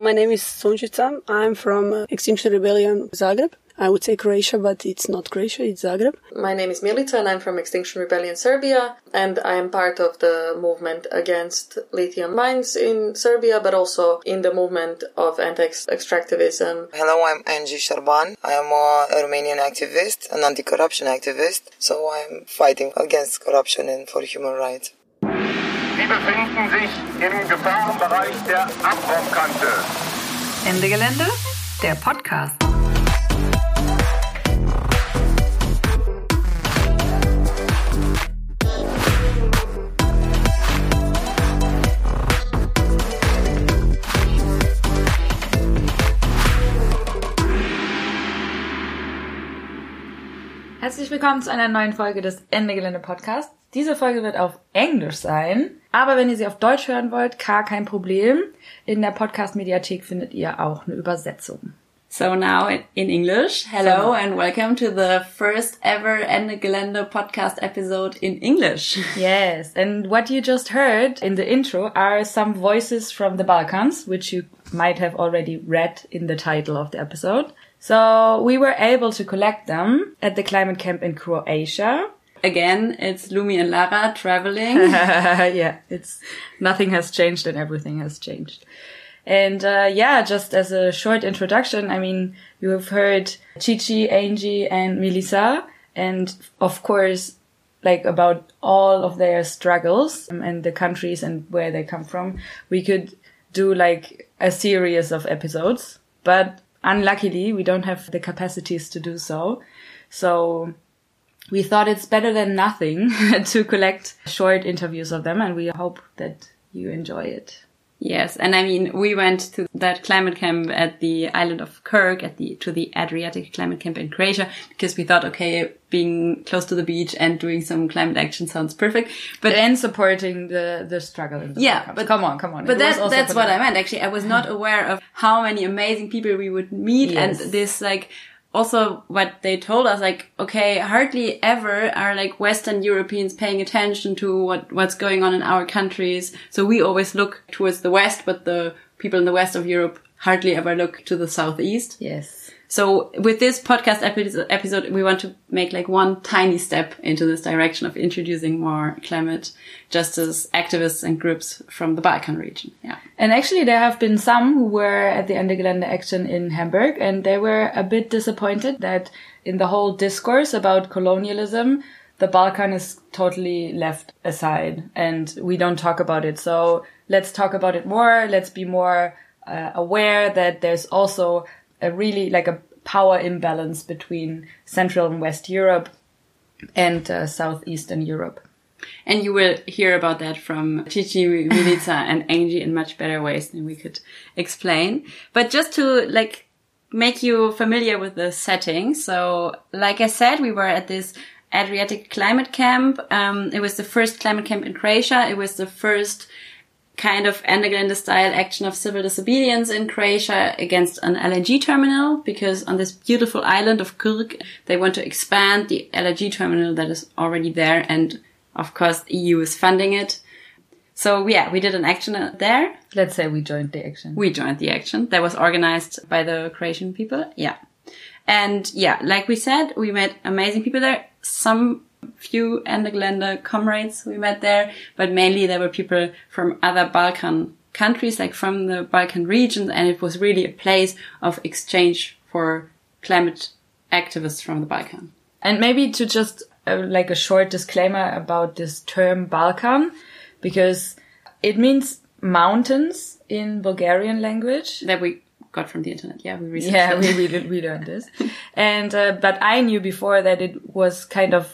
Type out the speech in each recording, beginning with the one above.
My name is Sunčica. I'm from Extinction Rebellion Zagreb. I would say Croatia, but it's not Croatia, it's Zagreb. My name is Milica and I'm from Extinction Rebellion Serbia, and I am part of the movement against lithium mines in Serbia, but also in the movement of anti-extractivism. Hello, I'm Angie Sharban. I am a Romanian activist, an anti-corruption activist, so I'm fighting against corruption and for human rights. Sie befinden sich im Gefahrenbereich der Abwurfkante. Ende Gelände, der Podcast. Herzlich willkommen zu einer neuen Folge des Ende Gelände Podcasts. Diese Folge wird auf Englisch sein, aber wenn ihr sie auf Deutsch hören wollt, gar kein Problem. In der Podcast-Mediathek findet ihr auch eine Übersetzung. So now in English, hello and welcome to the first ever Ende Gelände podcast episode in English. Yes, and what you just heard in the intro are some voices from the Balkans, which you might have already read in the title of the episode. So we were able to collect them at the climate camp in Croatia. Again, it's Lumi and Lara traveling. Yeah, nothing has changed and everything has changed. And just as a short introduction, I mean, you have heard Chichi, Angie and Melissa, and of course, like about all of their struggles and the countries and where they come from. We could do like a series of episodes, but unluckily, we don't have the capacities to do so. So we thought it's better than nothing to collect short interviews of them, and we hope that you enjoy it. Yes, and I mean, we went to that climate camp at the island of Krk, to the Adriatic climate camp in Croatia, because we thought, okay, being close to the beach and doing some climate action sounds perfect. But and supporting the struggle in the Balkans. But come on. But that's what I meant, actually. I was not aware of how many amazing people we would meet, yes. And this, like, also what they told us, like, okay, hardly ever are like Western Europeans paying attention to what's going on in our countries. So we always look towards the West, but the people in the West of Europe hardly ever look to the Southeast. Yes. So with this podcast episode, we want to make like one tiny step into this direction of introducing more climate justice activists and groups from the Balkan region. Yeah. And actually there have been some who were at the Ende Gelände action in Hamburg, and they were a bit disappointed that in the whole discourse about colonialism, the Balkan is totally left aside and we don't talk about it. So let's talk about it more. Let's be more aware that there's also a really like a power imbalance between Central and West Europe and Southeastern Europe. And you will hear about that from Chichi, Milica and Angie in much better ways than we could explain. But just to like make you familiar with the setting. So like I said, we were at this Adriatic climate camp. It was the first climate camp in Croatia. It was the first kind of Ende Gelände style action of civil disobedience in Croatia against an LNG terminal, because on this beautiful island of Krk, they want to expand the LNG terminal that is already there. And of course, the EU is funding it. So yeah, we did an action there. Let's say we joined the action. We joined the action that was organized by the Croatian people. Yeah. And yeah, like we said, we met amazing people there. Some few Ende Gelände comrades we met there, but mainly there were people from other Balkan countries, like from the Balkan region, and it was really a place of exchange for climate activists from the Balkan. And maybe to just like a short disclaimer about this term Balkan, because it means mountains in Bulgarian language. That we got from the internet. Yeah, we researched it. we learned this. And, but I knew before that it was kind of,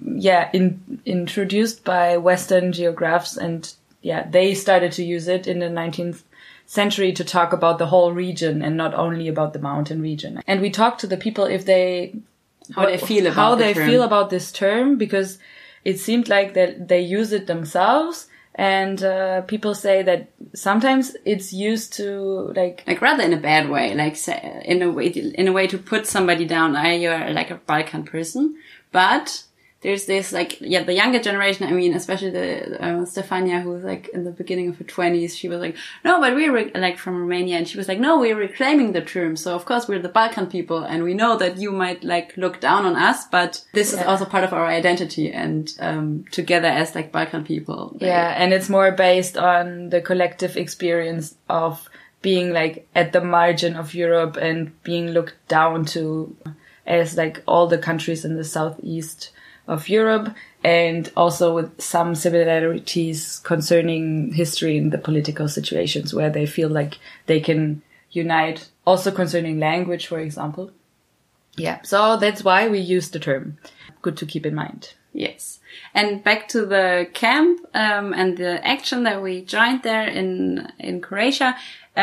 introduced by Western geographers, and they started to use it in the 19th century to talk about the whole region and not only about the mountain region. And we talked to the people how they feel about this term, because it seemed like that they use it themselves. And people say that sometimes it's used to like rather in a bad way, like say, in a way to put somebody down. You're like a Balkan person, but there's this like, the younger generation, I mean, especially the Stefania, who was like in the beginning of her 20s, she was like, no, but we're like from Romania, and she was like, no, we're reclaiming the term. So of course we're the Balkan people, and we know that you might like look down on us, but this is also part of our identity, and together as like Balkan people. And it's more based on the collective experience of being like at the margin of Europe and being looked down to as like all the countries in the southeast of Europe, and also with some similarities concerning history and the political situations where they feel like they can unite, also concerning language, for example. Yeah, so that's why we use the term. Good to keep in mind. Yes. And back to the camp and the action that we joined there in Croatia.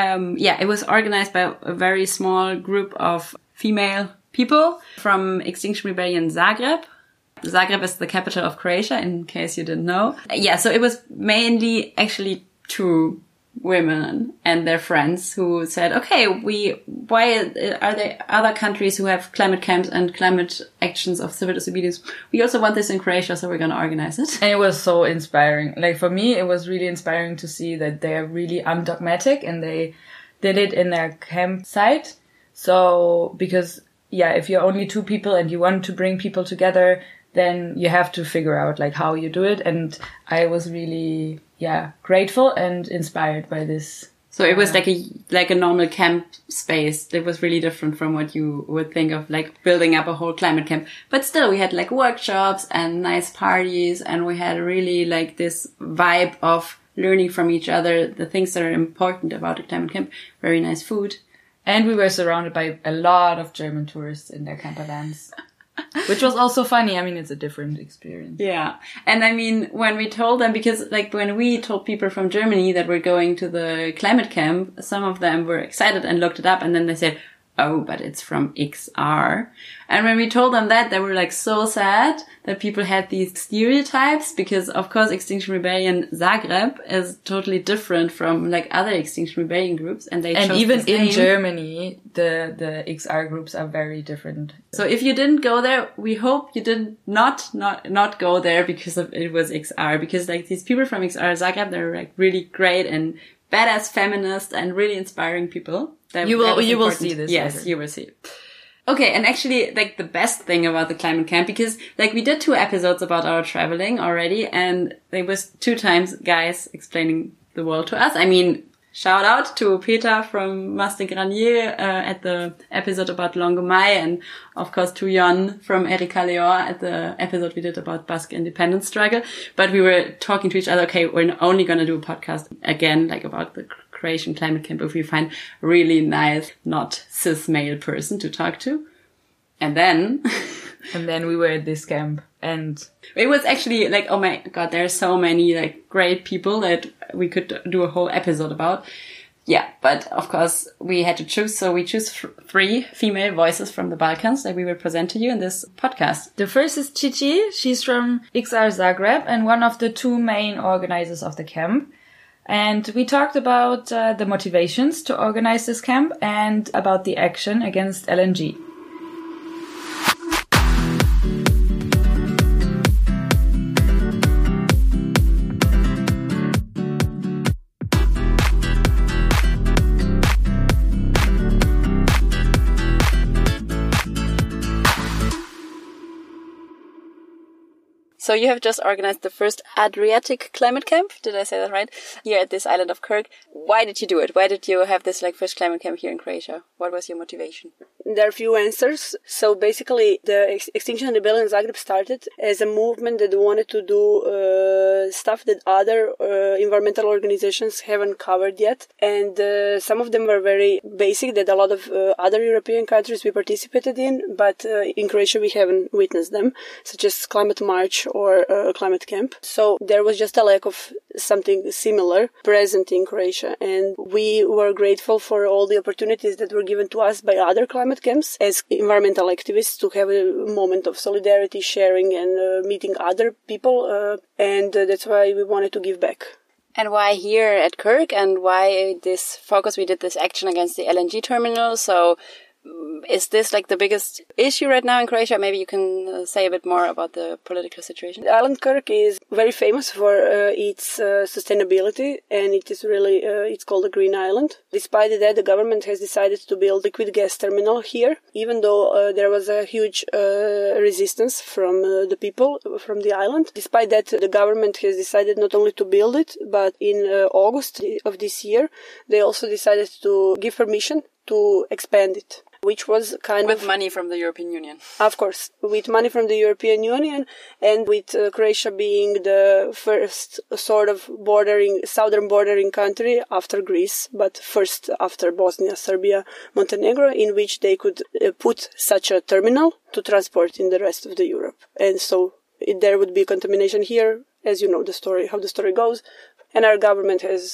It was organized by a very small group of female people from Extinction Rebellion Zagreb. Zagreb is the capital of Croatia, in case you didn't know. So it was mainly actually 2 women and their friends who said, okay, why are there other countries who have climate camps and climate actions of civil disobedience? We also want this in Croatia, so we're going to organize it. And it was so inspiring. Like for me, it was really inspiring to see that they're really undogmatic and they did it in their campsite. So, because, if you're only 2 people and you want to bring people together, then you have to figure out like how you do it. And I was really, grateful and inspired by this. So it was like a normal camp space. It was really different from what you would think of like building up a whole climate camp. But still we had like workshops and nice parties, and we had really like this vibe of learning from each other, the things that are important about a climate camp, very nice food. And we were surrounded by a lot of German tourists in their camper vans. Which was also funny. I mean, it's a different experience. Yeah. And I mean, when we told them, because like when we told people from Germany that we're going to the climate camp, some of them were excited and looked it up, and then they said, oh, but it's from XR. And when we told them that, they were like so sad that people had these stereotypes, because of course Extinction Rebellion Zagreb is totally different from like other Extinction Rebellion groups, and even in Germany the XR groups are very different. So if you didn't go there, we hope you did not go there because of it was XR, because like these people from XR Zagreb, they're like really great and badass feminists and really inspiring people. You will see this. Yes, later. You will see. Okay, and actually, like, the best thing about the climate camp, because, like, we did 2 episodes about our traveling already, and there was 2 times guys explaining the world to us. I mean, shout out to Peter from Master Granier at the episode about Longomai, and of course to Jon from Erika Leor at the episode we did about Basque independence struggle. But we were talking to each other, okay, we're only going to do a podcast again, like, about the Croatian climate camp if we find a really nice, not cis male person to talk to. And then we were at this camp, and it was actually like, oh my God, there are so many like great people that we could do a whole episode about. Yeah, but of course we had to choose. So we choose 3 female voices from the Balkans that we will present to you in this podcast. The first is Cici. She's from XR Zagreb and one of the 2 main organizers of the camp. And we talked about the motivations to organize this camp and about the action against LNG. So you have just organized the first Adriatic climate camp. Did I say that right? Here at this island of Krk. Why did you do it? Why did you have this like first climate camp here in Croatia? What was your motivation? There are a few answers. So basically, the Extinction Rebellion Zagreb started as a movement that wanted to do stuff that other environmental organizations haven't covered yet. And some of them were very basic that a lot of other European countries we participated in, but in Croatia we haven't witnessed them, such as Climate March or Climate Camp. So there was just a lack of something similar present in Croatia. And we were grateful for all the opportunities that were given to us by other climate camps as environmental activists to have a moment of solidarity, sharing, and meeting other people. And that's why we wanted to give back. And why here at Krk, and why this focus? We did this action against the LNG terminal. So Is this like the biggest issue right now in Croatia? Maybe you can say a bit more about the political situation. The island Krk is very famous for its sustainability, and it is really it's called a green island. Despite that, the government has decided to build liquid gas terminal here, even though there was a huge resistance from the people from the island. Despite that, the government has decided not only to build it, but in August of this year, they also decided to give permission to expand it, which was with money from the European Union. Of course, with money from the European Union, and with Croatia being the first sort of southern bordering country after Greece, but first after Bosnia, Serbia, Montenegro, in which they could put such a terminal to transport in the rest of the Europe. And so there would be contamination here, as you know how the story goes. And our government has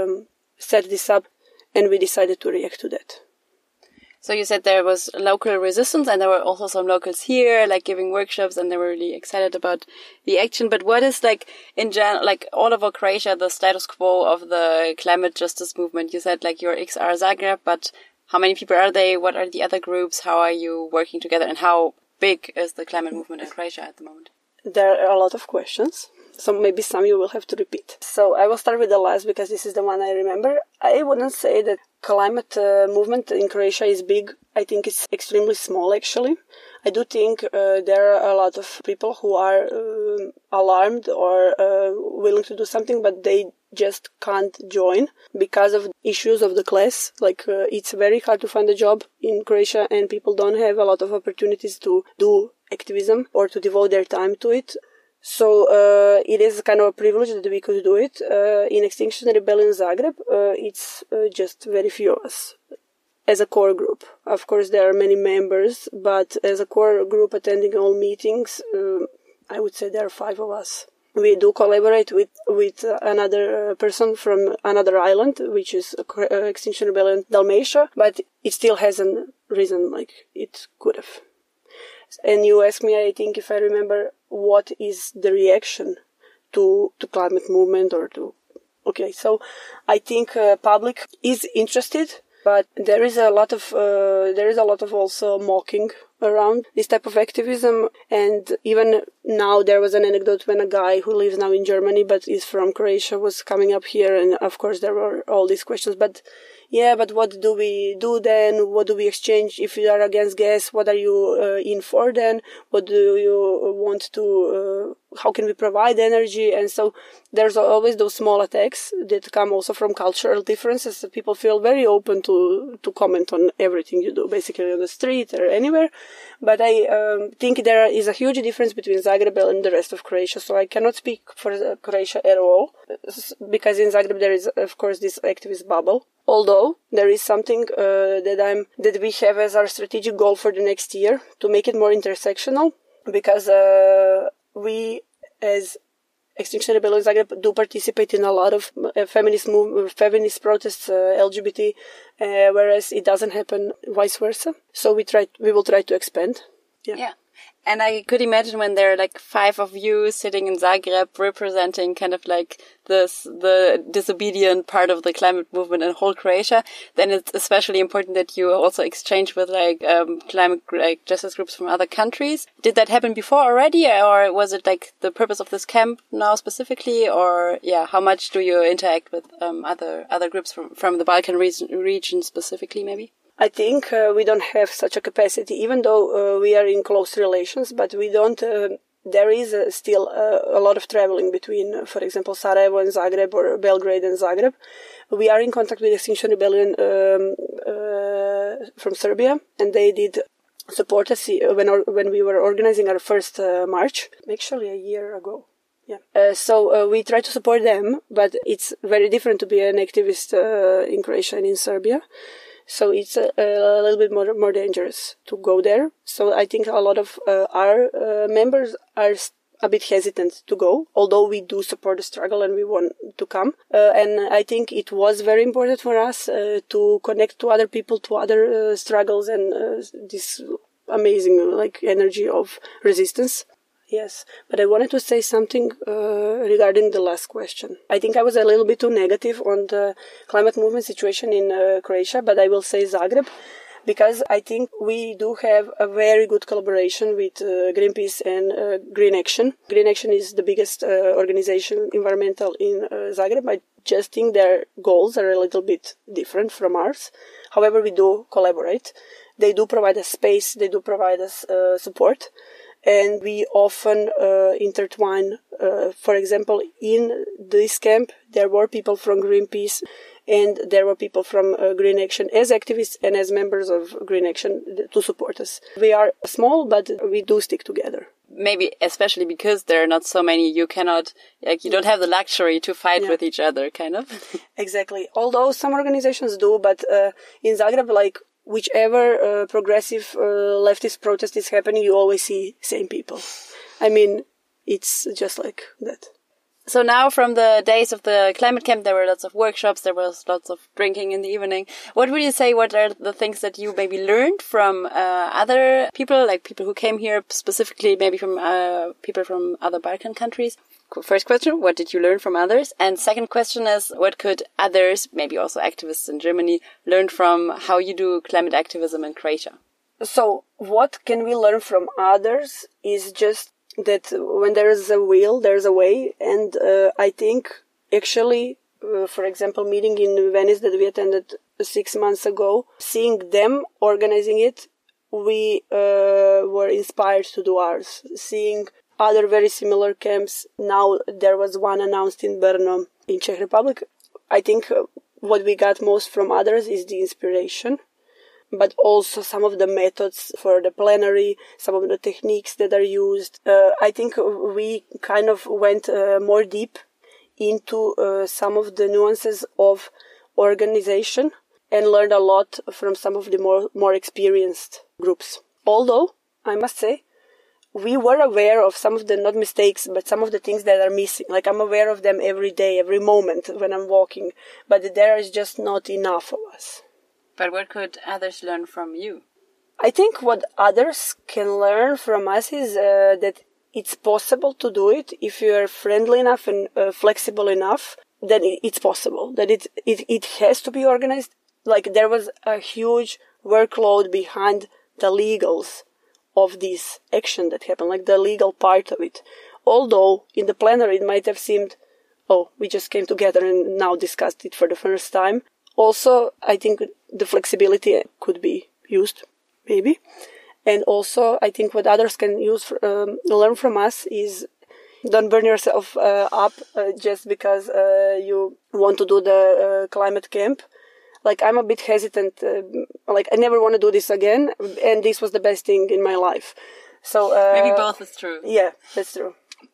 set this up, and we decided to react to that. So you said there was local resistance, and there were also some locals here, like giving workshops, and they were really excited about the action. But what is like in general, like all over Croatia, the status quo of the climate justice movement? You said like your XR Zagreb, but how many people are they? What are the other groups? How are you working together? And how big is the climate movement in Croatia at the moment? There are a lot of questions. So maybe some you will have to repeat. So I will start with the last because this is the one I remember. I wouldn't say that climate movement in Croatia is big. I think it's extremely small, actually. I do think there are a lot of people who are alarmed or willing to do something, but they just can't join because of issues of the class. Like it's very hard to find a job in Croatia, and people don't have a lot of opportunities to do activism or to devote their time to it. So it is kind of a privilege that we could do it. In Extinction Rebellion Zagreb, it's just very few of us as a core group. Of course, there are many members, but as a core group attending all meetings, I would say there are 5 of us. We do collaborate with another person from another island, which is Extinction Rebellion Dalmatia, but it still hasn't risen like it could have. And you asked me, I think, if I remember, what is the reaction to climate movement or to... Okay, so I think public is interested, but there is a lot of also mocking around this type of activism. And even now there was an anecdote when a guy who lives now in Germany but is from Croatia was coming up here, and of course there were all these questions, but what do we do then? What do we exchange? If you are against gas, what are you in for then? What do you want to, how can we provide energy? And so there's always those small attacks that come also from cultural differences. People feel very open to comment on everything you do, basically on the street or anywhere. But I think there is a huge difference between Zagreb and the rest of Croatia. So I cannot speak for Croatia at all, because in Zagreb there is, of course, this activist bubble. Although there is something that we have as our strategic goal for the next year to make it more intersectional, because we as Extinction Rebellion Zagreb do participate in a lot of feminist protests, LGBT, whereas it doesn't happen vice versa. So we will try to expand. Yeah. And I could imagine when there are like 5 of you sitting in Zagreb representing kind of like the disobedient part of the climate movement in whole Croatia, then it's especially important that you also exchange with like climate justice groups from other countries. Did that happen before already, or was it like the purpose of this camp now specifically, or how much do you interact with other groups from the Balkan region specifically maybe? I think we don't have such a capacity, even though we are in close relations, but we don't, there is still a lot of traveling between, for example, Sarajevo and Zagreb or Belgrade and Zagreb. We are in contact with Extinction Rebellion from Serbia, and they did support us when we were organizing our first march, actually a year ago. Yeah. So we try to support them, but it's very different to be an activist in Croatia and in Serbia. So it's a little bit more dangerous to go there. So I think a lot of our members are a bit hesitant to go, although we do support the struggle and we want to come. And I think it was very important for us to connect to other people, to other struggles, and this amazing energy of resistance. Yes, but I wanted to say something regarding the last question. I think I was a little bit too negative on the climate movement situation in Croatia, but I will say Zagreb, because I think we do have a very good collaboration with Greenpeace and Green Action. Green Action is the biggest organization environmental in Zagreb. I just think their goals are a little bit different from ours. However, we do collaborate. They do provide us space. They do provide us support. And we often intertwine. For example, in this camp, there were people from Greenpeace and there were people from Green Action as activists and as members of Green Action to support us. We are small, but we do stick together. Maybe especially because there are not so many, you cannot, you don't have the luxury to fight with each other, kind of. Exactly. Although some organizations do, but in Zagreb, whichever progressive leftist protest is happening, you always see same people. I mean, it's just like that. So now from the days of the climate camp, there were lots of workshops, there was lots of drinking in the evening. What would you say, what are the things that you maybe learned from other people, like people who came here specifically, maybe from people from other Balkan countries? First question, what did you learn from others? And second question is, what could others, maybe also activists in Germany, learn from how you do climate activism in Croatia? So what can we learn from others is just that when there is a will, there's a way. And I think actually, for example, meeting in Venice that we attended 6 months ago, seeing them organizing it, we were inspired to do ours. Seeing other very similar camps. Now there was one announced in Brno in Czech Republic. I think what we got most from others is the inspiration, but also some of the methods for the plenary, some of the techniques that are used. I think we kind of went more deep into some of the nuances of organization and learned a lot from some of the more experienced groups. Although, I must say, we were aware of some of the, not mistakes, but some of the things that are missing. Like, I'm aware of them every day, every moment when I'm walking, but there is just not enough of us. But what could others learn from you? I think what others can learn from us is that it's possible to do it. If you are friendly enough and flexible enough, then it's possible. That it has to be organized. Like, there was a huge workload behind the legals of this action that happened, like the legal part of it. Although in the plenary it might have seemed, oh, we just came together and now discussed it for the first time. Also, I think the flexibility could be used, maybe. And also, I think what others can learn from us is don't burn yourself up just because you want to do the climate camp. Like, I'm a bit hesitant. I never want to do this again. And this was the best thing in my life. So maybe both is true. Yeah, that's true.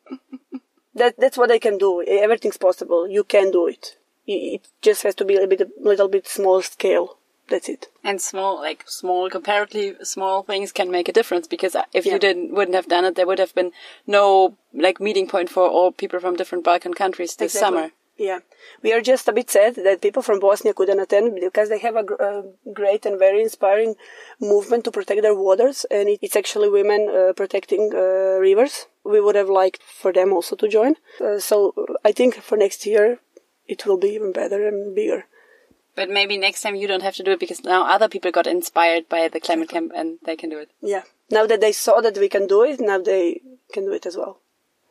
That's what I can do. Everything's possible. You can do it. It just has to be a little bit small scale. That's it. And comparatively small things can make a difference, because if you wouldn't have done it, there would have been no meeting point for all people from different Balkan countries this summer. Yeah. We are just a bit sad that people from Bosnia couldn't attend, because they have a great and very inspiring movement to protect their waters, and it's actually women protecting rivers. We would have liked for them also to join. So I think for next year it will be even better and bigger. But maybe next time you don't have to do it, because now other people got inspired by the climate camp and they can do it. Yeah. Now that they saw that we can do it, now they can do it as well.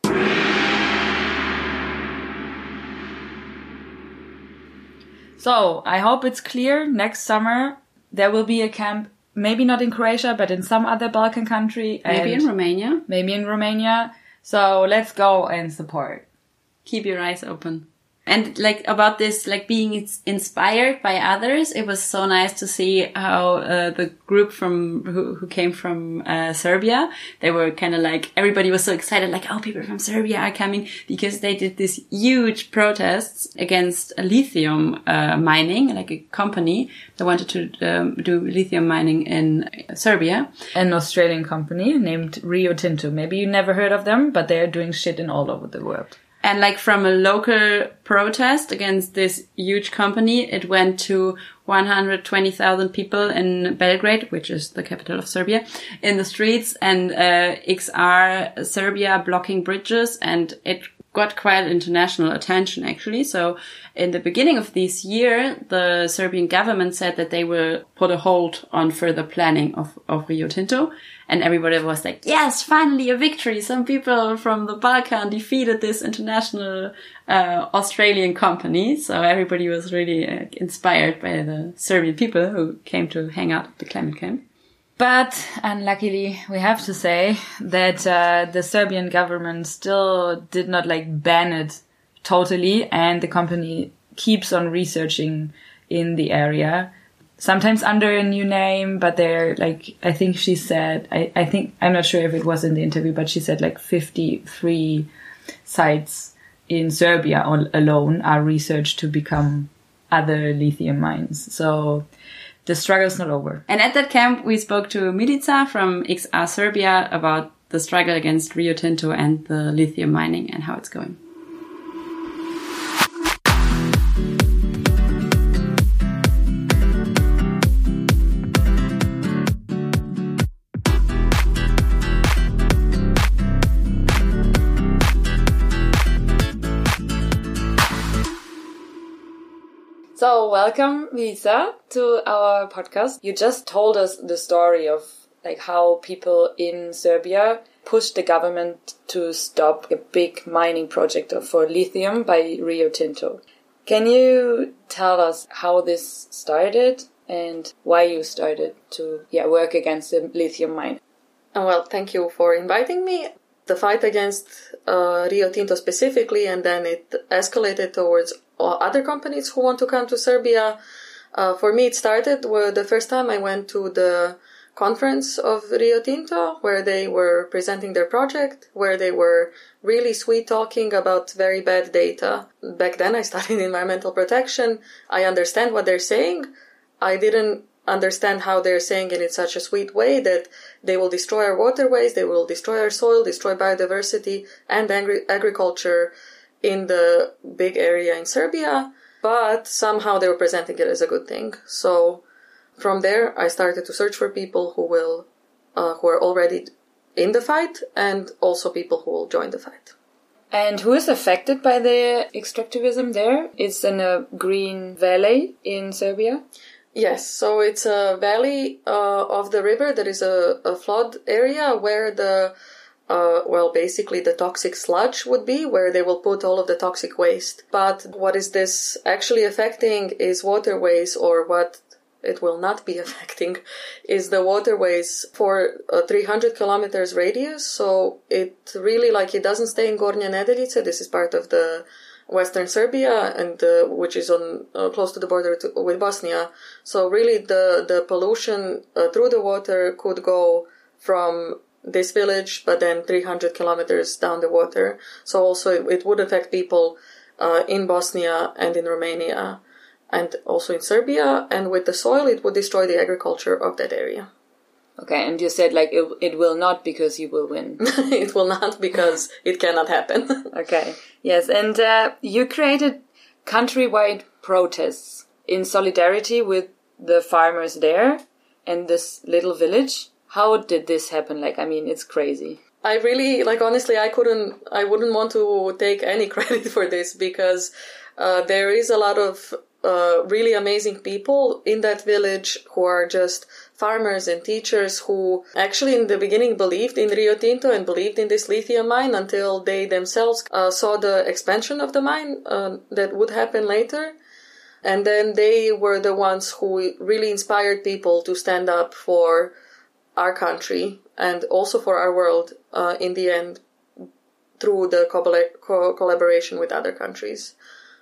So, I hope it's clear. Next summer, there will be a camp, maybe not in Croatia, but in some other Balkan country. Maybe in Romania. Maybe in Romania. So, let's go and support. Keep your eyes open. And about this, being inspired by others, it was so nice to see how the group who came from Serbia, they were kind of everybody was so excited, oh, people from Serbia are coming, because they did this huge protests against lithium mining, like a company that wanted to do lithium mining in Serbia. An Australian company named Rio Tinto. Maybe you never heard of them, but they're doing shit in all over the world. And from a local protest against this huge company, it went to 120,000 people in Belgrade, which is the capital of Serbia, in the streets, and XR Serbia blocking bridges, and it got quite international attention, actually. So in the beginning of this year, the Serbian government said that they will put a hold on further planning of Rio Tinto. And everybody was like, yes, finally a victory. Some people from the Balkan defeated this international Australian company. So everybody was really inspired by the Serbian people who came to hang out at the climate camp. But unluckily, we have to say that the Serbian government still did not ban it totally, and the company keeps on researching in the area, sometimes under a new name, but they're I think she said, I think, I'm not sure if it was in the interview, but she said 53 sites in Serbia alone are researched to become other lithium mines. So the struggle's not over. And at that camp, we spoke to Milica from XR Serbia about the struggle against Rio Tinto and the lithium mining and how it's going. So welcome, Milica, to our podcast. You just told us the story of how people in Serbia pushed the government to stop a big mining project for lithium by Rio Tinto. Can you tell us how this started and why you started to work against the lithium mine? Well, thank you for inviting me. The fight against Rio Tinto specifically, and then it escalated towards other companies who want to come to Serbia. For me, it started the first time I went to the conference of Rio Tinto, where they were presenting their project, where they were really sweet talking about very bad data. Back then, I studied environmental protection. I understand what they're saying. I didn't understand how they're saying it in such a sweet way that they will destroy our waterways, they will destroy our soil, destroy biodiversity and agriculture in the big area in Serbia, but somehow they were presenting it as a good thing. So from there, I started to search for people who are already in the fight, and also people who will join the fight. And who is affected by the extractivism there? It's in a green valley in Serbia? Yes, so it's a valley of the river. There is a flood area where basically the toxic sludge would be, where they will put all of the toxic waste. But what is this actually affecting is waterways, or what it will not be affecting is the waterways for a 300 kilometers radius. So it really, it doesn't stay in Gornja Nedeljica. This is part of the Western Serbia, and which is on close to the border with Bosnia. So really the pollution through the water could go from this village, but then 300 kilometers down the water. So also it would affect people in Bosnia and in Romania and also in Serbia. And with the soil, it would destroy the agriculture of that area. Okay, and you said it will not because you will win. It will not because it cannot happen. Okay, yes, and you created countrywide protests in solidarity with the farmers there and this little village. How did this happen? It's crazy. I really, honestly, I wouldn't want to take any credit for this, because there is a lot of really amazing people in that village who are just farmers and teachers who actually in the beginning believed in Rio Tinto and believed in this lithium mine until they themselves saw the expansion of the mine that would happen later. And then they were the ones who really inspired people to stand up for our country and also for our world in the end through the collaboration with other countries.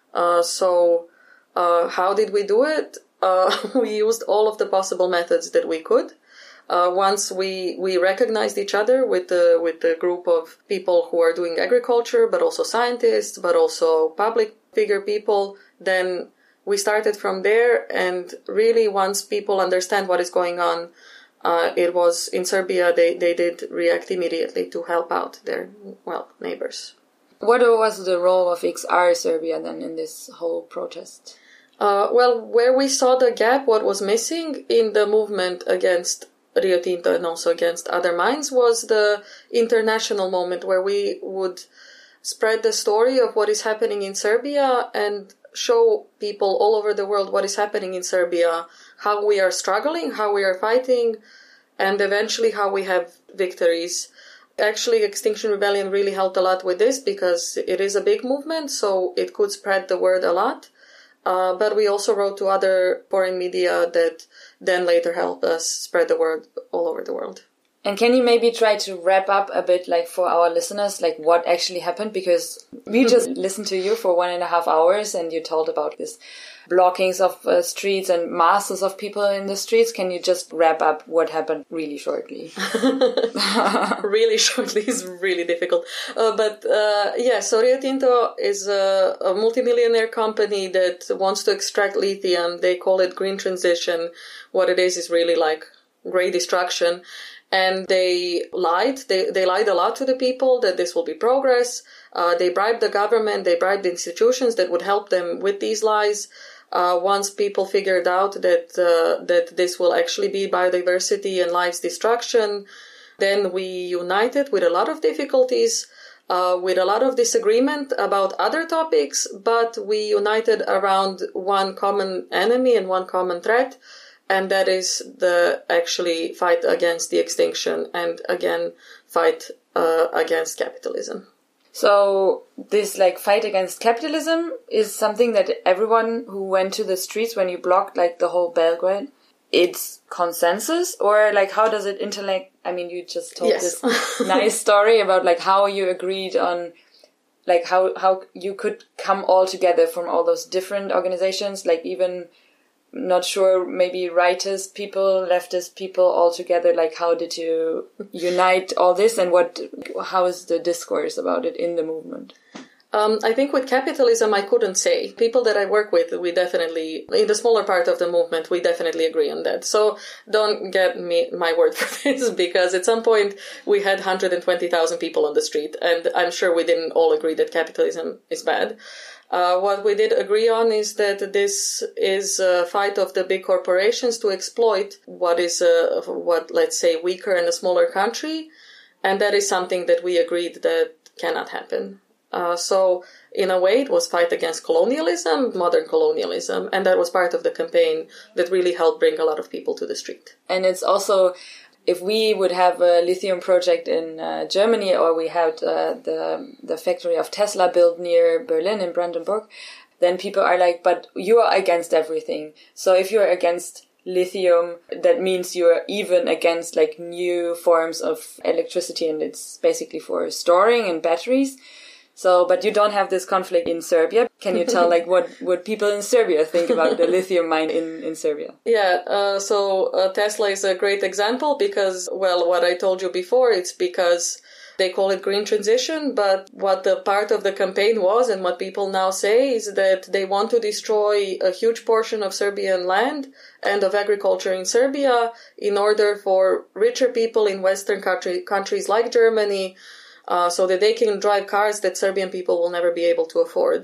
So how did we do it? We used all of the possible methods that we could. Once we recognized each other with the group of people who are doing agriculture, but also scientists, but also public figure people, then we started from there. And really, once people understand what is going on, it was in Serbia, they did react immediately to help out their, neighbors. What was the role of XR Serbia then in this whole protest? Where we saw the gap, what was missing in the movement against Rio Tinto and also against other mines was the international moment where we would spread the story of what is happening in Serbia and show people all over the world what is happening in Serbia, how we are struggling, how we are fighting, and eventually how we have victories. Actually, Extinction Rebellion really helped a lot with this because it is a big movement, so it could spread the word a lot. But we also wrote to other foreign media that then later helped us spread the word all over the world. And can you maybe try to wrap up a bit, like, for our listeners, like, what actually happened? Because we just listened to you for 1.5 hours and you told about this blockings of streets and masses of people in the streets. Can you just wrap up what happened really shortly? Really shortly is really difficult. So Rio Tinto is a multimillionaire company that wants to extract lithium. They call it green transition. What it is really like great destruction. And they lied. They lied a lot to the people that this will be progress. They bribed the government. They bribed the institutions that would help them with these lies. Once people figured out that this will actually be biodiversity and life's destruction, then we united with a lot of difficulties, with a lot of disagreement about other topics, but we united around one common enemy and one common threat. And that is the actually fight against the extinction and again fight against capitalism. So this like fight against capitalism is something that everyone who went to the streets when you blocked like the whole Belgrade, it's consensus, or like how does it interact? I mean, you just told this nice story about like how you agreed on like how you could come all together from all those different organizations, like even not sure, maybe rightist people, leftist people all together. Like, how did you unite all this, and how is the discourse about it in the movement? I think with capitalism, I couldn't say. People that I work with, we definitely, in the smaller part of the movement, we definitely agree on that. So don't get my word for this, because at some point we had 120,000 people on the street, and I'm sure we didn't all agree that capitalism is bad. What we did agree on is that this is a fight of the big corporations to exploit what let's say, weaker and a smaller country. And that is something that we agreed that cannot happen. So in a way, it was fight against colonialism, modern colonialism. And that was part of the campaign that really helped bring a lot of people to the street. And it's also, if we would have a lithium project in Germany, or we had the factory of Tesla built near Berlin in Brandenburg, then people are like, but you are against everything. So if you're against lithium, that means you're even against like new forms of electricity, and it's basically for storing and batteries. So, but you don't have this conflict in Serbia. Can you tell, like, what people in Serbia think about the lithium mine in Serbia? Yeah, so Tesla is a great example because, well, what I told you before, it's because they call it green transition, but what the part of the campaign was and what people now say is that they want to destroy a huge portion of Serbian land and of agriculture in Serbia in order for richer people in Western countries like Germany so that they can drive cars that Serbian people will never be able to afford.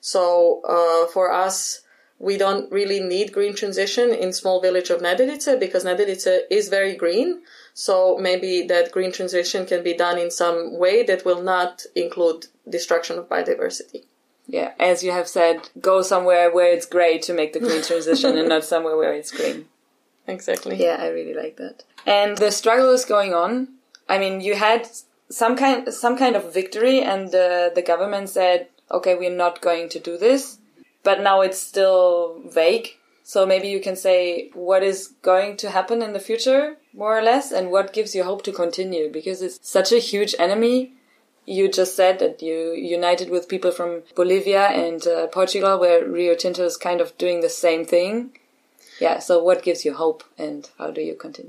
So for us, we don't really need green transition in small village of Nedelice because Nedelice is very green. So maybe that green transition can be done in some way that will not include destruction of biodiversity. Yeah, as you have said, go somewhere where it's grey to make the green transition and not somewhere where it's green. Exactly. Yeah, I really like that. And the struggle is going on. I mean, you had some kind of victory, and the government said, okay, we're not going to do this, but now it's still vague. So maybe you can say what is going to happen in the future, more or less, and what gives you hope to continue, because it's such a huge enemy. You just said that you united with people from Bolivia and Portugal, where Rio Tinto is kind of doing the same thing. Yeah, so what gives you hope, and how do you continue?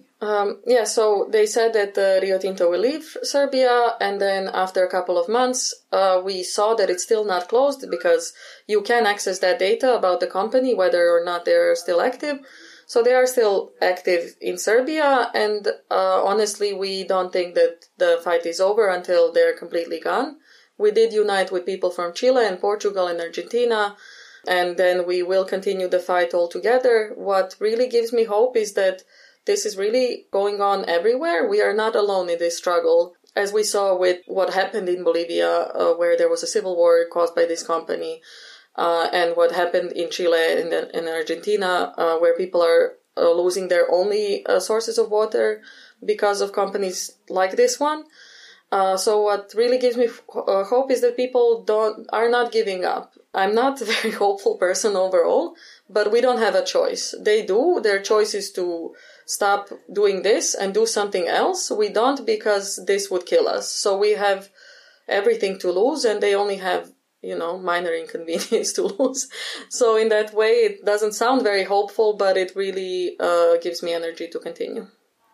So they said that Rio Tinto will leave Serbia, and then after a couple of months, we saw that it's still not closed because you can access that data about the company, whether or not they're still active. So they are still active in Serbia, and honestly, we don't think that the fight is over until they're completely gone. We did unite with people from Chile and Portugal and Argentina, and then we will continue the fight all together. What really gives me hope is that this is really going on everywhere. We are not alone in this struggle. as we saw with what happened in Bolivia, where there was a civil war caused by this company, and what happened in Chile and in Argentina, where people are losing their only sources of water because of companies like this one. So what really gives me hope is that people are not giving up. I'm not a very hopeful person overall, but we don't have a choice. They do. Their choice is to stop doing this and do something else. We don't, because this would kill us. So we have everything to lose, and they only have, minor inconvenience to lose. So in that way, it doesn't sound very hopeful, but it really gives me energy to continue.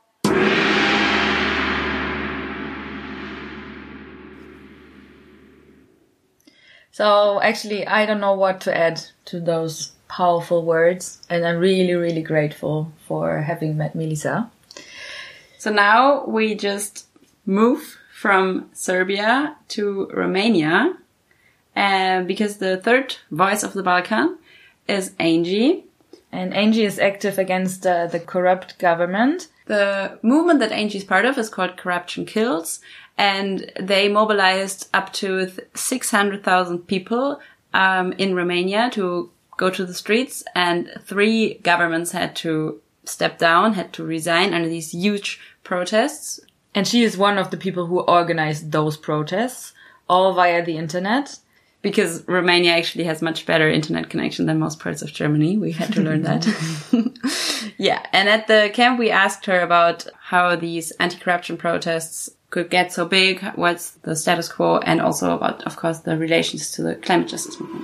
So actually, I don't know what to add to those powerful words, and I'm really, really grateful for having met Milica. So now we just move from Serbia to Romania, because the third voice of the Balkan is Angie. And Angie is active against the corrupt government. The movement that Angie is part of is called Corruption Kills, and they mobilized up to 600,000 people in Romania to go to the streets, and 3 governments had to step down, had to resign under these huge protests. And she is one of the people who organized those protests, all via the internet. Because Romania actually has much better internet connection than most parts of Germany. We had to learn that. Yeah. And at the camp, we asked her about how these anti-corruption protests could get so big, what's the status quo, and also about, of course, the relations to the climate justice movement.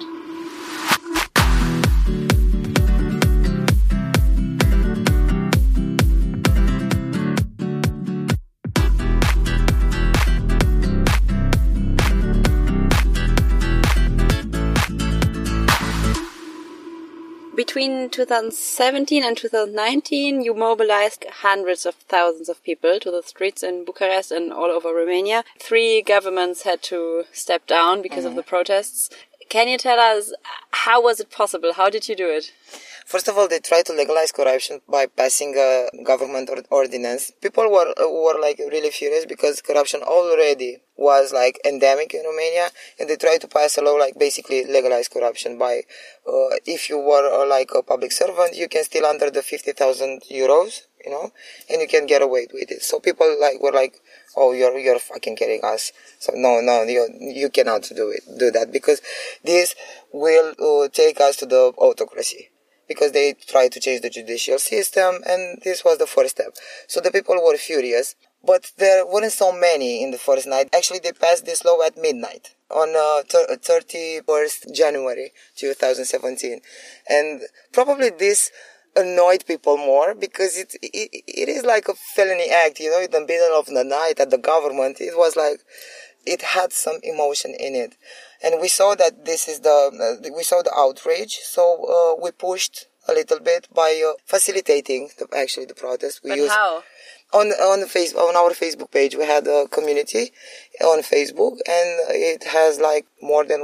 Between 2017 and 2019, you mobilized hundreds of thousands of people to the streets in Bucharest and all over Romania. 3 governments had to step down because of the protests. Can you tell us, how was it possible? How did you do it? First of all, they tried to legalize corruption by passing a government ordinance. People were like really furious because corruption already was like endemic in Romania, and they tried to pass a law like basically legalize corruption by if you were like a public servant, you can steal under the 50,000 euros, and you can get away with it. So people were like, oh, you're fucking kidding us. So no, you cannot do that, because this will take us to the autocracy. Because they tried to change the judicial system, and this was the first step. So the people were furious, but there weren't so many in the first night. Actually, they passed this law at midnight on 31st January 2017. And probably this annoyed people more, because it is like a felony act, in the middle of the night at the government. It was like, it had some emotion in it. And we saw that we saw the outrage, so we pushed a little bit by facilitating the protest. How? On our Facebook page, we had a community on Facebook, and it has like more than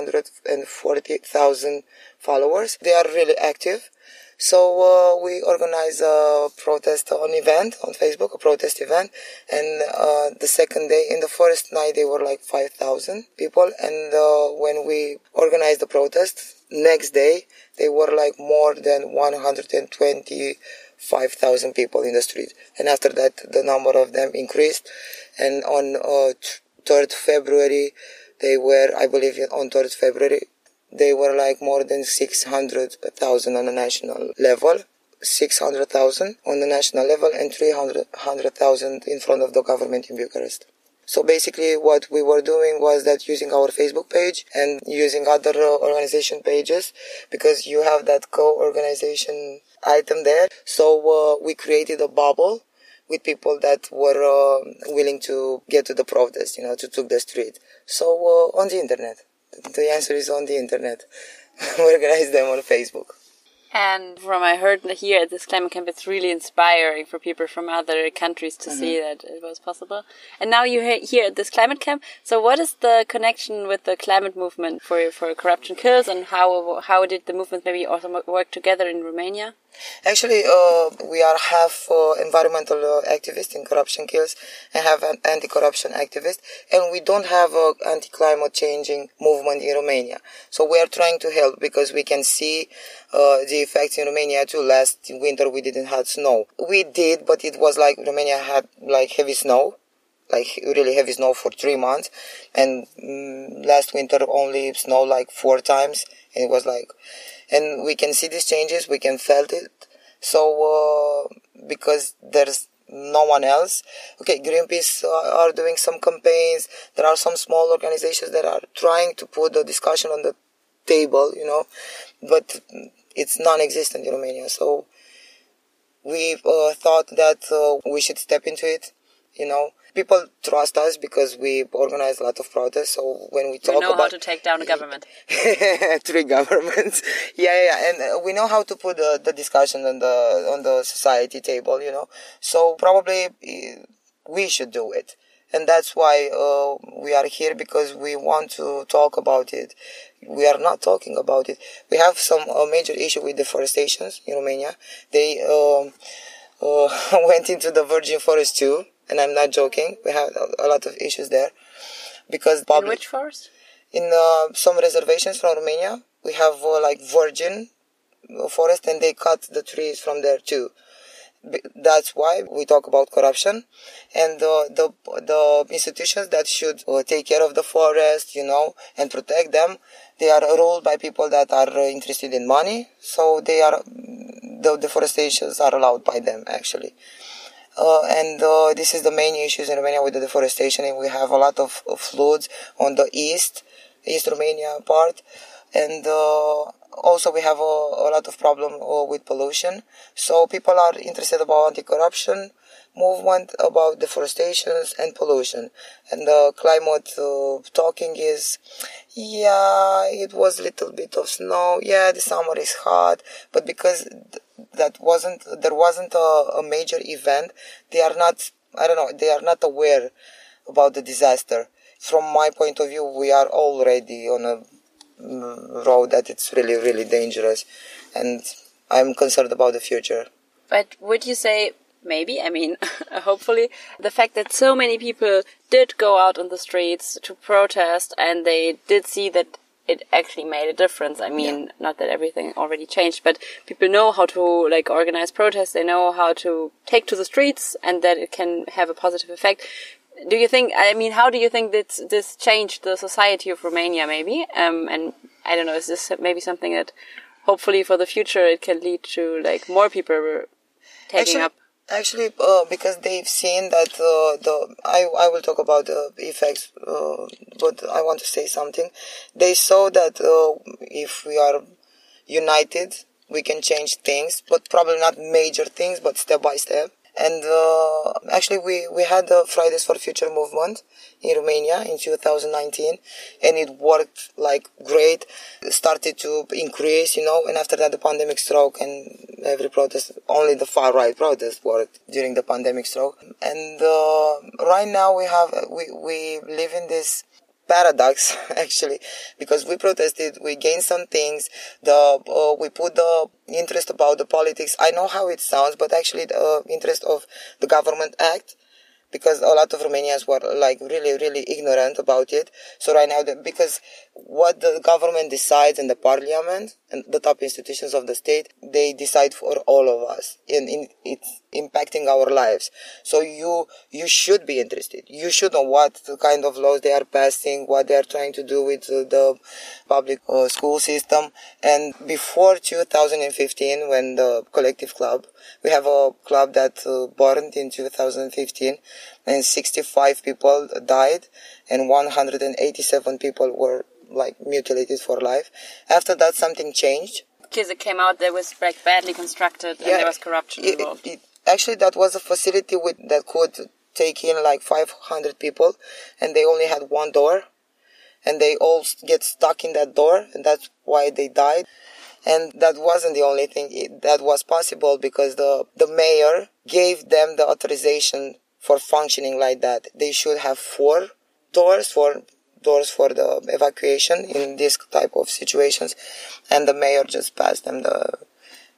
140,000 followers. They are really active. So we organized a protest event on Facebook, a protest event, and the second day, in the first night, they were like 5,000 people, and when we organized the protest, next day, they were like more than 125,000 people in the street, and after that, the number of them increased, and on 3rd February, they were, I believe, on 3rd February, they were like more than 600,000 on the national level, 600,000 on the national level, and 300,000 in front of the government in Bucharest. So basically what we were doing was that using our Facebook page and using other organization pages, because you have that co-organization item there. So we created a bubble with people that were willing to get to the protest, to take the street. So on the internet. The answer is on the internet. We organize them on Facebook. And from I heard here at this climate camp, it's really inspiring for people from other countries to see that it was possible. And now you're here at this climate camp. So what is the connection with the climate movement for Corruption Kills, and how did the movement maybe also work together in Romania? Actually, we are half environmental activists in Corruption Kills and have an anti-corruption activist, and we don't have an anti-climate changing movement in Romania. So we are trying to help because we can see the effects in Romania too. Last winter we didn't have snow. We did, but it was like Romania had like heavy snow, like really heavy snow for 3 months, and last winter only snowed like 4 times, and it was like, and we can see these changes, we can felt it. So because there's no one else, okay, Greenpeace are doing some campaigns. There are some small organizations that are trying to put the discussion on the table, you know, but it's non-existent in Romania. So we thought that we should step into it, you know. People trust us because we organize a lot of protests. So when we talk about... You know how to take down a government. 3 governments. Yeah. And we know how to put the discussion on the society table, you know. So probably we should do it. And that's why we are here, because we want to talk about it. We are not talking about it. We have some major issue with deforestation in Romania. They went into the virgin forest too. And I'm not joking. We have a lot of issues there. Because in which forest? In some reservations from Romania, we have like virgin forest, and they cut the trees from there too. That's why we talk about corruption, and the institutions that should take care of the forest, you know, and protect them, they are ruled by people that are interested in money. So the deforestations are allowed by them actually. And this is the main issues in Romania with the deforestation, and we have a lot of floods on the East Romania part, and also we have a lot of problem with pollution. So people are interested about anti-corruption movement, about deforestations and pollution. And the climate talking is, yeah, it was a little bit of snow, yeah, the summer is hot, but because there wasn't a major event, they are not aware about the disaster. From my point of view, we are already on a road that it's really, really dangerous, and I'm concerned about the future. But would you say, maybe, I mean, hopefully, the fact that so many people did go out on the streets to protest, and they did see that it actually made a difference. I mean, not that everything already changed, but people know how to like organize protests. They know how to take to the streets, and that it can have a positive effect. Do you think? I mean, how do you think that this changed the society of Romania? Maybe, and I don't know. Is this maybe something that hopefully for the future it can lead to like more people taking up? Actually, because they've seen that I will talk about the effects, but I want to say something. They saw that if we are united, we can change things, but probably not major things, but step by step. And actually, we had the Fridays for Future movement in Romania in 2019, and it worked like great. It started to increase, you know, and after that the pandemic struck, and every protest, only the far right protest worked during the pandemic struck. And right now we live in this paradox actually, because we protested, we gained some things, we put the interest about the politics. I know how it sounds, but actually the interest of the government act, because a lot of Romanians were like really, really ignorant about it. So right now, because what the government decides in the parliament and the top institutions of the state, they decide for all of us, and it's impacting our lives. So you should be interested. You should know what kind of laws they are passing, what they are trying to do with the public school system. And before 2015, when the Collective Club, we have a club that burned in 2015, and 65 people died, and 187 people were like mutilated for life. After that, something changed. Because it came out that was like badly constructed, and there was corruption involved. Actually, that was a facility that could take in like 500 people, and they only had one door, and they all get stuck in that door, and that's why they died. And that wasn't the only thing that was possible, because the mayor gave them the authorization for functioning like that. They should have 4 doors for the evacuation in this type of situations, and the mayor just passed them the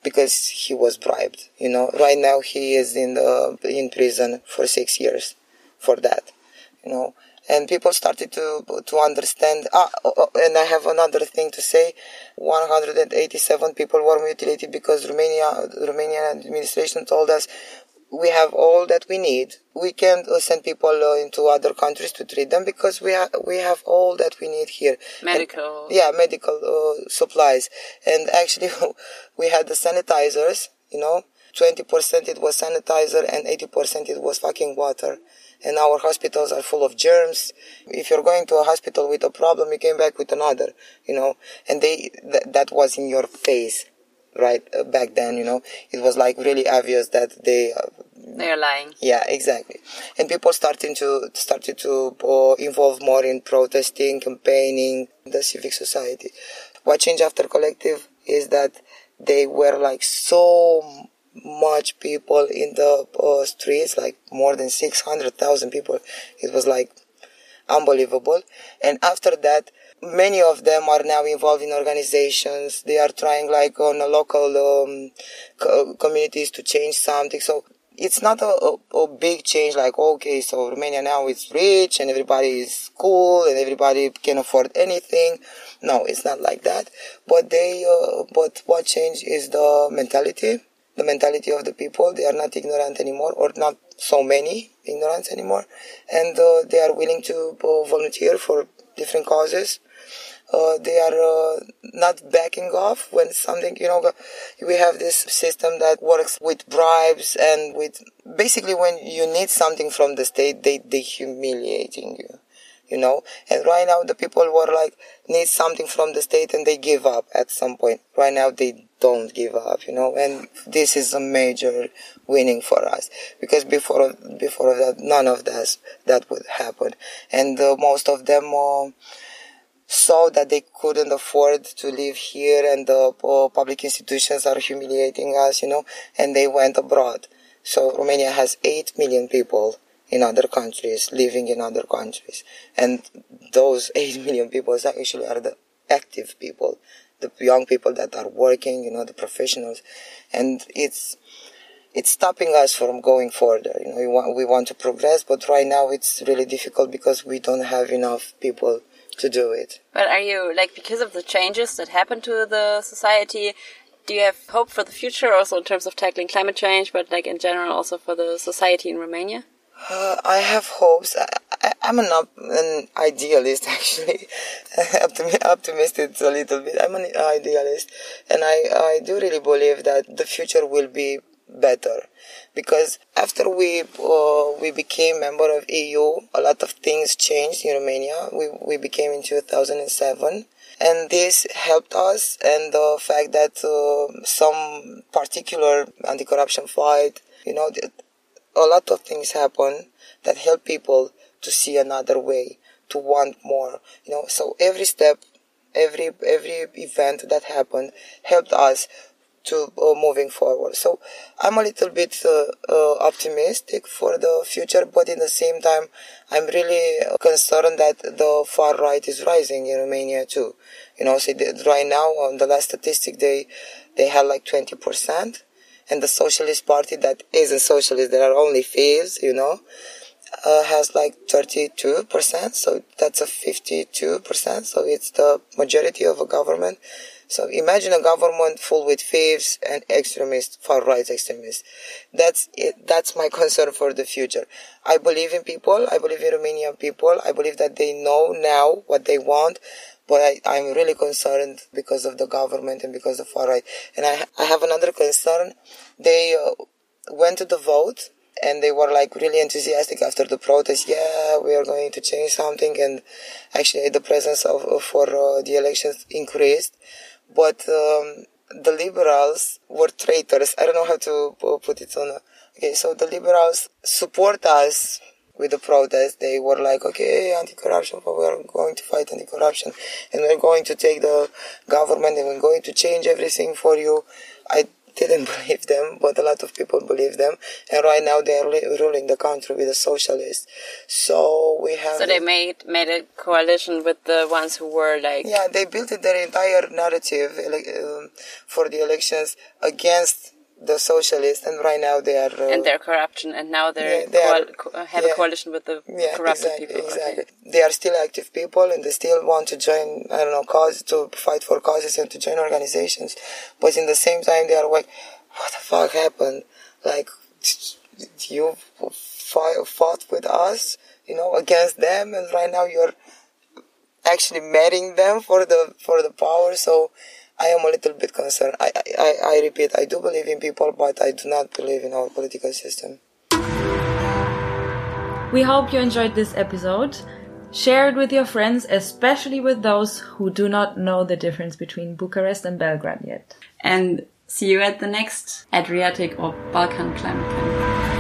because he was bribed. Right now he is in prison for 6 years for that. And people started to understand. And I have another thing to say. 187 people were mutilated because Romanian administration told us we have all that we need. We can't send people into other countries to treat them because we have all that we need here. Medical. Medical supplies. And actually, we had the sanitizers. 20% it was sanitizer and 80% it was fucking water. And our hospitals are full of germs. If you're going to a hospital with a problem, you came back with another, and that was in your face, right? Back then, it was like really obvious that they're lying. Yeah, exactly. And people started to involve more in protesting, campaigning, the civic society. What changed after Collective is that they were like so much people in the streets, like more than 600,000 people. It was like unbelievable. And after that, many of them are now involved in organizations. They are trying like on a local communities to change something. So it's not a big change like, okay, so Romania now is rich and everybody is cool and everybody can afford anything. No, it's not like that. But what changed is the mentality of the people. They are not ignorant anymore, or not so many ignorant anymore. And they are willing to volunteer for different causes. They are not backing off when something, we have this system that works with bribes and with, basically when you need something from the state, they humiliating you. And right now the people were like, need something from the state and they give up at some point. Right now they don't give up, and this is a major winning for us, because before that, none of that would happen. And most of them saw that they couldn't afford to live here and the public institutions are humiliating us, and they went abroad. So Romania has 8 million people in other countries, living in other countries. And those 8 million people actually are the active people, the young people that are working, the professionals. And it's stopping us from going further. We want to progress, but right now it's really difficult because we don't have enough people to do it. But are you, because of the changes that happen to the society, do you have hope for the future also in terms of tackling climate change, but in general also for the society in Romania? I have hopes. I'm an idealist, actually. Optimistic a little bit. I'm an idealist. And I do really believe that the future will be better. Because after we became member of EU, a lot of things changed in Romania. We became in 2007. And this helped us. And the fact that some particular anti-corruption fight, a lot of things happen that help people to see another way, to want more. So every step, every event that happened helped us to moving forward. So I'm a little bit optimistic for the future, but in the same time, I'm really concerned that the far right is rising in Romania too. So right now, on the last statistic, they had like 20%. And the Socialist Party that isn't socialist, there are only thieves, has like 32%. So that's a 52%. So it's the majority of a government. So imagine a government full with thieves and extremists, far-right extremists. That's it. That's my concern for the future. I believe in people. I believe in Romanian people. I believe that they know now what they want. But I'm really concerned because of the government and because of far-right. And I have another concern. They went to the vote and they were like really enthusiastic after the protest. Yeah, we are going to change something. And actually the presence for the elections increased. But the liberals were traitors. I don't know how to put it on. Okay, so the liberals support us with the protest. They were like, okay, anti-corruption, but we are going to fight anti-corruption and we're going to take the government and we're going to change everything for you. didn't believe them, but a lot of people believe them. And right now they are ruling the country with the socialists. So we have... So they made a coalition with the ones who were like... Yeah, they built their entire narrative for the elections against the socialists, and right now they are... and their corruption, and now they have a coalition with the corrupted people. Exactly. Okay. They are still active people, and they still want to join, to fight for causes and to join organizations. But in the same time, they are like, what the fuck happened? Like, you fought with us, against them, and right now you're actually marrying them for the power, so... I am a little bit concerned. I repeat, I do believe in people, but I do not believe in our political system. We hope you enjoyed this episode. Share it with your friends, especially with those who do not know the difference between Bucharest and Belgrade yet. And see you at the next Adriatic or Balkan Climate Camp.